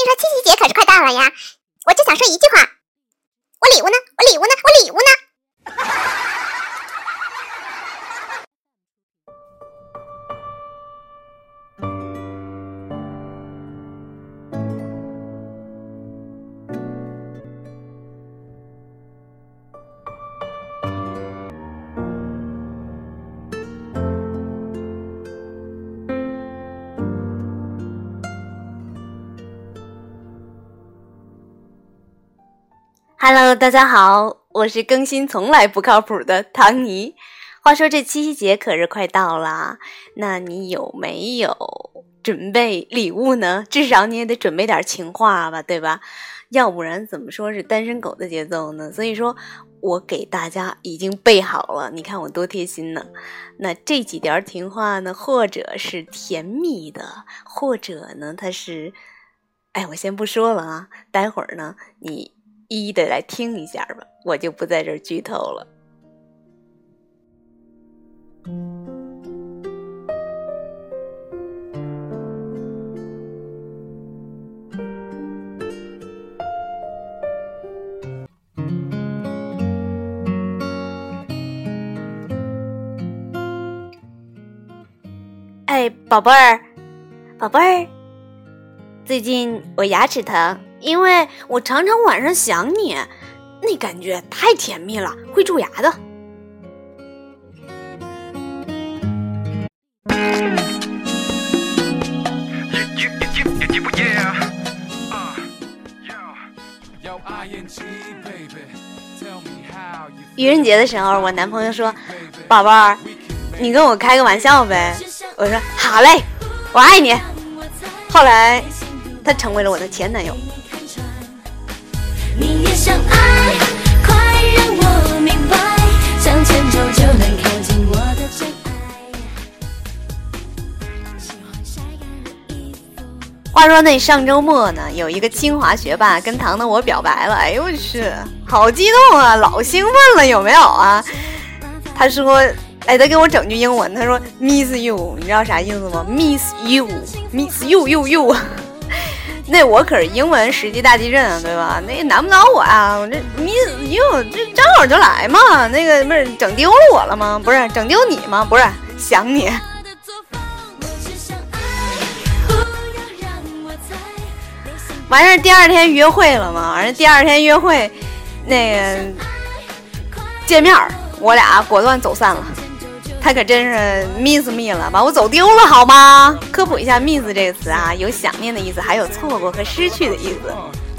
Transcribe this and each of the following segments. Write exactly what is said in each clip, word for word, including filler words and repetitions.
说七夕节可是快到了呀，我就想说一句话，我礼物呢？我礼物呢？我礼物呢？ Hello， 大家好，我是更新从来不靠谱的唐尼。话说这七夕节可是快到了，那你有没有准备礼物呢？至少你也得准备点情话吧，对吧？要不然怎么说是单身狗的节奏呢？所以说我给大家已经备好了，你看我多贴心呢。那这几条情话呢，或者是甜蜜的，或者呢它是，哎，我先不说了啊，待会儿呢你一一的来听一下吧，我就不在这儿剧透了。哎，宝贝儿，宝贝儿，最近我牙齿疼，因为我常常晚上想你，那感觉太甜蜜了，会蛀牙的。愚人节的时候，我男朋友说：“宝贝儿，你跟我开个玩笑呗。”我说：“好嘞，我爱你。”后来他成为了我的前男友。你也想爱，快让我明白，向前走就能靠近我的真爱。话说那上周末呢，有一个清华学霸跟唐的我表白了，哎呦我去，好激动啊，老兴奋了，有没有啊？他说，哎，他给我整句英文，他说 miss you， 你知道啥意思吗？ miss you miss you you you 那我可是英文十级大地震啊，对吧？那难不倒我啊！我这 miss you 这正好就来嘛，那个不是整丢了我了吗？不是整丢你吗？不是想你。完事儿第二天约会了嘛，完事儿第二天约会，那个见面我俩果断走散了。他可真是 miss me 了，把我走丢了好吗？科普一下 miss 这个词啊，有想念的意思，还有错过和失去的意思。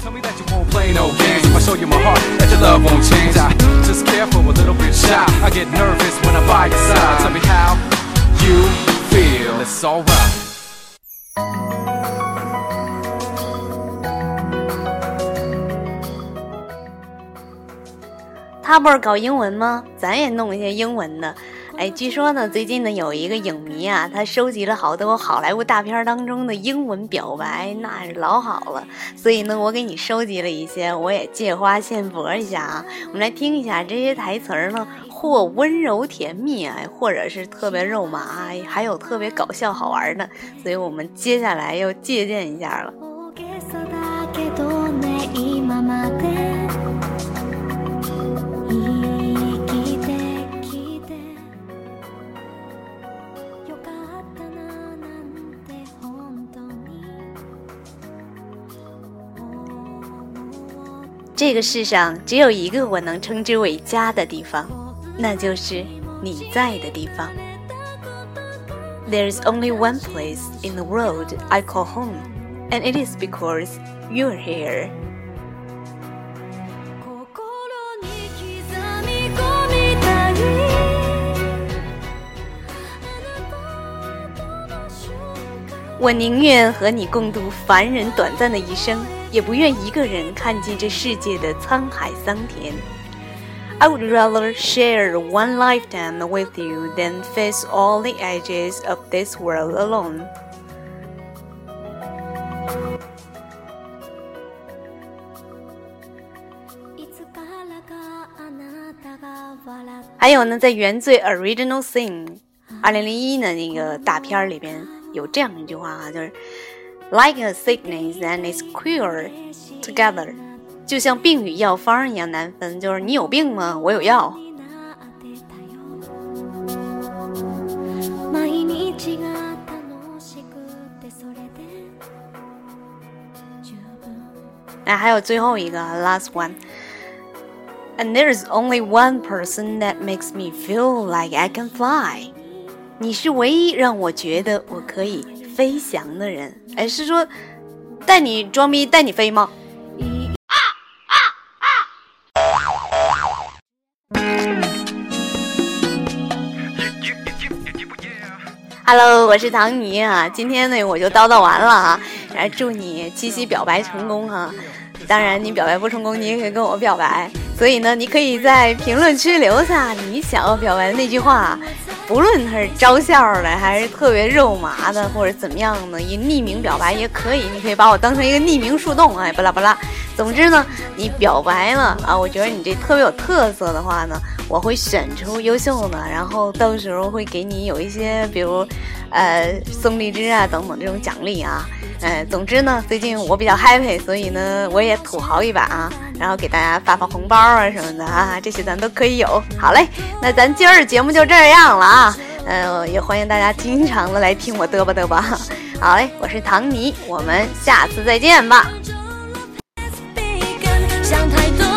他不是搞英文吗？咱也弄一些英文的。哎，据说呢，最近呢有一个影迷啊，他收集了好多好莱坞大片当中的英文表白，那是老好了。所以呢，我给你收集了一些，我也借花献佛一下啊。我们来听一下这些台词儿呢，或温柔甜蜜啊，或者是特别肉麻，还有特别搞笑好玩的。所以我们接下来要借鉴一下了。这个世上只有一个我能称之为家的地方，那就是你在的地方。 There's only one place in the world I call home, and it is because you're here. 我宁愿和你共度凡人短暂的一生，也不愿一个人看尽这世界的沧海桑田。I would rather share one lifetime with you than face all the edges of this world alone. 还有呢，在原罪 Original Sin 二零零一的那个大片里边有这样一句话啊，就是 like a sickness and its cure together， 就像病与药方一样难分，就是你有病吗？我有药。哎，还有最后一个 last one。And there's only one person that makes me feel like I can fly。 你是唯一让我觉得我可以飞翔的人。哎，是说带你装逼带你飞吗？Hello， 我是唐尼啊，今天呢我就叨叨完了啊，然后祝你七夕表白成功啊！当然你表白不成功，你也可以跟我表白，所以呢，你可以在评论区留下你想要表白的那句话，不论它是招笑的，还是特别肉麻的，或者怎么样的，以匿名表白也可以，你可以把我当成一个匿名树洞，哎，巴拉巴拉。总之呢，你表白了啊，我觉得你这特别有特色的话呢，我会选出优秀的，然后到时候会给你有一些，比如，呃，送荔枝啊等等这种奖励啊。呃，总之呢，最近我比较 happy， 所以呢，我也土豪一把啊，然后给大家发发红包啊什么的啊，这些咱都可以有。好嘞，那咱今儿节目就这样了啊，呃，也欢迎大家经常的来听我嘚吧嘚吧。好嘞，我是唐尼，我们下次再见吧。想太多